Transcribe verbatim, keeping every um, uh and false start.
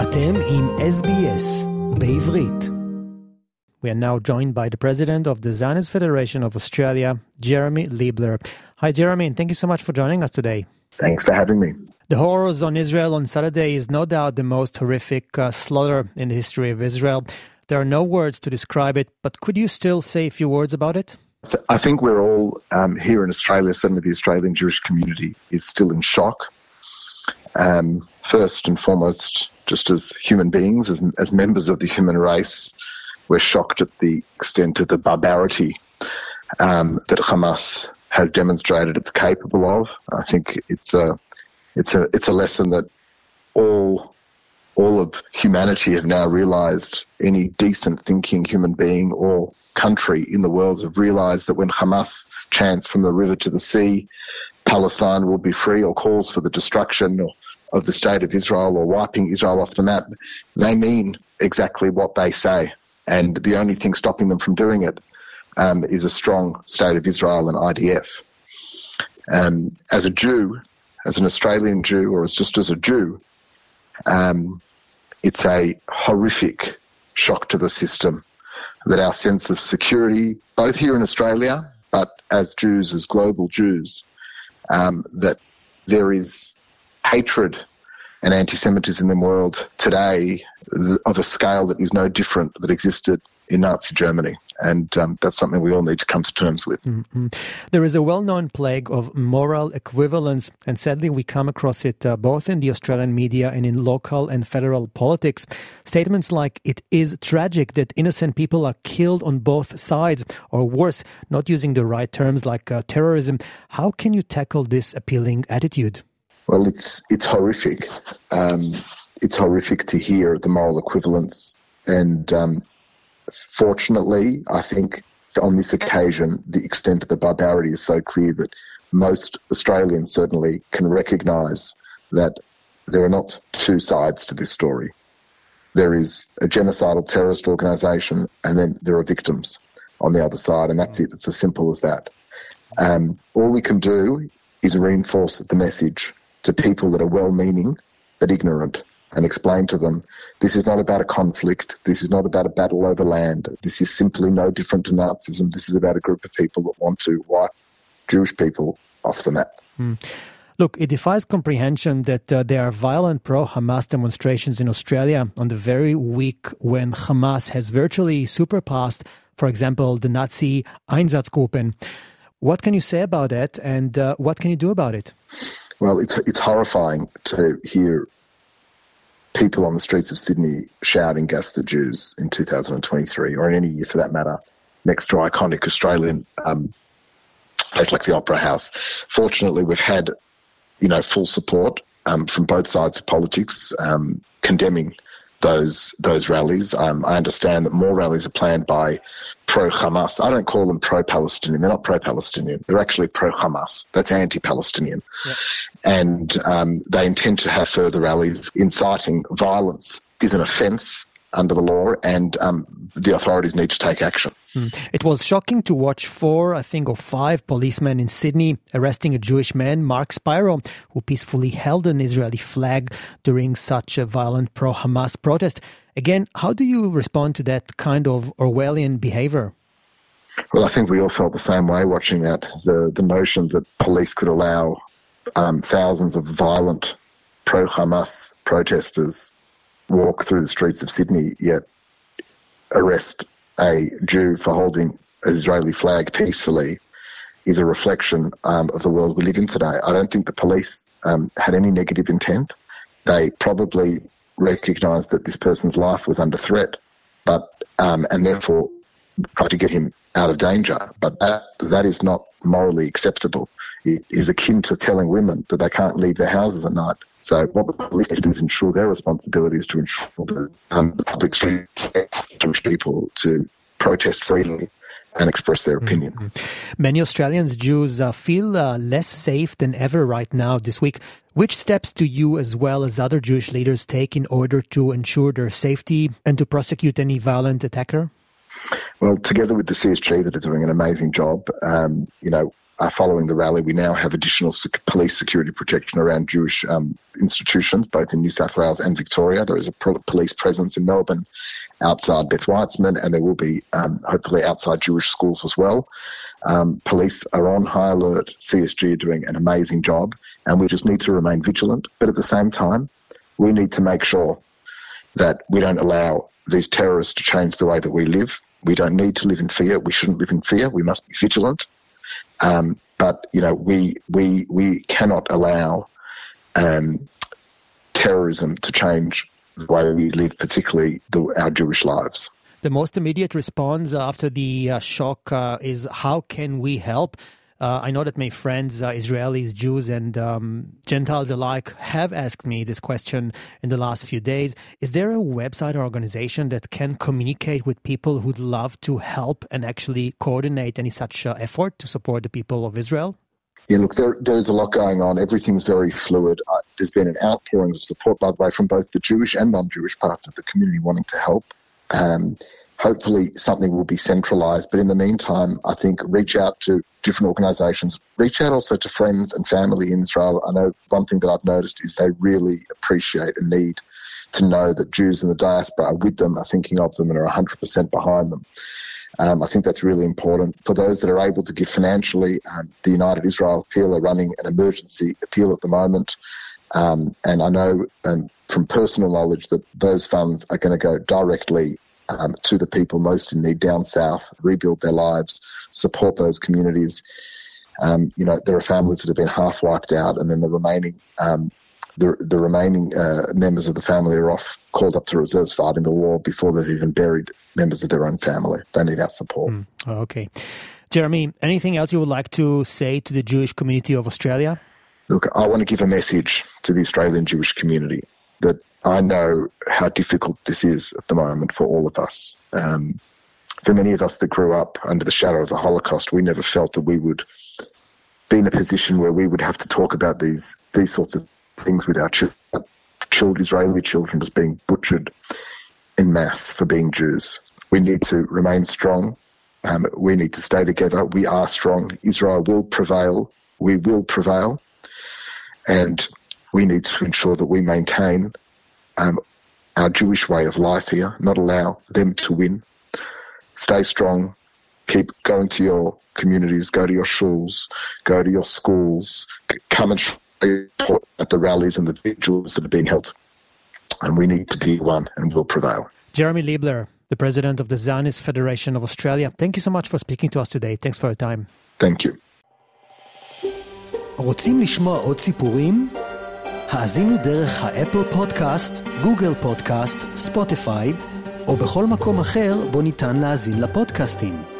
אתם עם S B S בעברית. We are now joined by the president of the Zionist Federation of Australia, Jeremy Liebler. Hi, Jeremy, and thank you so much for joining us today. Thanks for having me. The horrors on Israel on Saturday is no doubt the most horrific uh, slaughter in the history of Israel. There are no words to describe it, but could you still say a few words about it? I think we're all um, here in Australia, certainly the Australian Jewish community, is still in shock. Um, first and foremost, just as human beings, as, as members of the human race, we're shocked at the extent of the barbarity um, that Hamas has demonstrated it's capable of. I think it's a it's a it's a lesson that all all of humanity have now realised. Any decent thinking human being or country in the world have realised that when Hamas chants from the river to the sea, Palestine will be free, or calls for the destruction of the state of Israel or wiping Israel off the map, they mean exactly what they say. And the only thing stopping them from doing it um, is a strong state of Israel and I D F. Um, as a Jew, as an Australian Jew, or as just as a Jew, um, it's a horrific shock to the system that our sense of security, both here in Australia, but as Jews, as global Jews, um, that there is hatred and anti-Semitism in the world today of a scale that is no different that existed in Nazi Germany. And um, that's something we all need to come to terms with. Mm-hmm. There is a well-known plague of moral equivalence, and sadly we come across it uh, both in the Australian media and in local and federal politics. Statements like, it is tragic that innocent people are killed on both sides, or worse, not using the right terms like uh, terrorism. How can you tackle this appealing attitude? Well, it's it's horrific. Um, it's horrific to hear the moral equivalence. And um, fortunately, I think on this occasion, the extent of the barbarity is so clear that most Australians certainly can recognise that there are not two sides to this story. There is a genocidal terrorist organisation, and then there are victims on the other side, and that's it. It's as simple as that. Um, all we can do is reinforce the message to people that are well-meaning but ignorant, and explain to them, this is not about a conflict, this is not about a battle over land, this is simply no different to Nazism, this is about a group of people that want to wipe Jewish people off the map. Mm. Look, it defies comprehension that uh, there are violent pro-Hamas demonstrations in Australia on the very week when Hamas has virtually surpassed, for example, the Nazi Einsatzgruppen. What can you say about that, and uh, what can you do about it? Well, it's it's horrifying to hear people on the streets of Sydney shouting "Gas the Jews" in two thousand twenty-three, or in any year for that matter, next to iconic Australian um, place like the Opera House. Fortunately, we've had, you know, full support um, from both sides of politics um, condemning those those rallies. Um, I understand that more rallies are planned by pro-Hamas. I don't call them pro-Palestinian. They're not pro-Palestinian. They're actually pro-Hamas. That's anti-Palestinian. Yeah. And um, they intend to have further rallies. Inciting violence is an offence under the law, and um, the authorities need to take action. Mm. It was shocking to watch four, I think, or five policemen in Sydney arresting a Jewish man, Mark Spiro, who peacefully held an Israeli flag during such a violent pro-Hamas protest. Again, how do you respond to that kind of Orwellian behaviour? Well, I think we all felt the same way watching that. The, the notion that police could allow um, thousands of violent pro-Hamas protesters walk through the streets of Sydney, yet arrest a Jew for holding an Israeli flag peacefully, is a reflection um, of the world we live in today. I don't think the police um, had any negative intent. They probably recognised that this person's life was under threat, but um, and therefore tried to get him out of danger. But that that is not morally acceptable. It is akin to telling women that they can't leave their houses at night. So what the police need to do is ensure their responsibility is to ensure that um, the public street Jewish people to protest freely and express their opinion. Mm-hmm. Many Australians, Jews, uh, feel uh, less safe than ever right now this week. Which steps do you, as well as other Jewish leaders, take in order to ensure their safety and to prosecute any violent attacker? Well, together with the C S G that are doing an amazing job, um, you know, uh, following the rally, we now have additional sec- police security protection around Jewish um, institutions, both in New South Wales and Victoria. There is a pro- police presence in Melbourne, outside Beth Weitzman, and there will be um, hopefully outside Jewish schools as well. Um, police are on high alert. C S G are doing an amazing job, and we just need to remain vigilant. But at the same time, we need to make sure that we don't allow these terrorists to change the way that we live. We don't need to live in fear. We shouldn't live in fear. We must be vigilant. Um, but, you know, we we we cannot allow um, terrorism to change the way we live, particularly the, our Jewish lives. The most immediate response after the uh, shock uh, is how can we help? Uh, I know that my friends, uh, Israelis, Jews, and um, Gentiles alike have asked me this question in the last few days. Is there a website or organization that can communicate with people who'd love to help and actually coordinate any such uh, effort to support the people of Israel? Yeah, look, there, there's a lot going on. Everything's very fluid. Uh, there's been an outpouring of support, by the way, from both the Jewish and non-Jewish parts of the community wanting to help. Um, hopefully something will be centralised. But in the meantime, I think reach out to different organisations. Reach out also to friends and family in Israel. I know one thing that I've noticed is they really appreciate and need to know that Jews in the diaspora are with them, are thinking of them and are one hundred percent behind them. Um, I think that's really important. For those that are able to give financially, um, the United Israel Appeal are running an emergency appeal at the moment. Um, and I know um, from personal knowledge that those funds are going to go directly um, to the people most in need down south, rebuild their lives, support those communities. Um, you know, there are families that have been half wiped out, and then the remaining um, the, the remaining uh, members of the family are off, called up to reserves fighting the war before they've even buried members of their own family. They need our support. Mm, okay. Jeremy, anything else you would like to say to the Jewish community of Australia? Look, I want to give a message to the Australian Jewish community that I know how difficult this is at the moment for all of us. Um, for many of us that grew up under the shadow of the Holocaust, we never felt that we would be in a position where we would have to talk about these these sorts of things with our children. Children, Israeli children just being butchered en masse for being Jews. We need to remain strong. Um, we need to stay together. We are strong. Israel will prevail. We will prevail. And we need to ensure that we maintain um, our Jewish way of life here, not allow them to win. Stay strong. Keep going to your communities, go to your shuls, go to your schools, come and support at the rallies and the vigils that are being held. And we need to be one and will prevail. Jeremy Liebler, the president of the Zionist Federation of Australia. Thank you so much for speaking to us today. Thanks for your time. Thank you. רוצים לשמוע עוד סיפורים? האזינו דרך האפל פודקאסט, גוגל פודקאסט, ספוטיפיי, או בכל מקום אחר בו ניתן להאזין לפודקאסטים.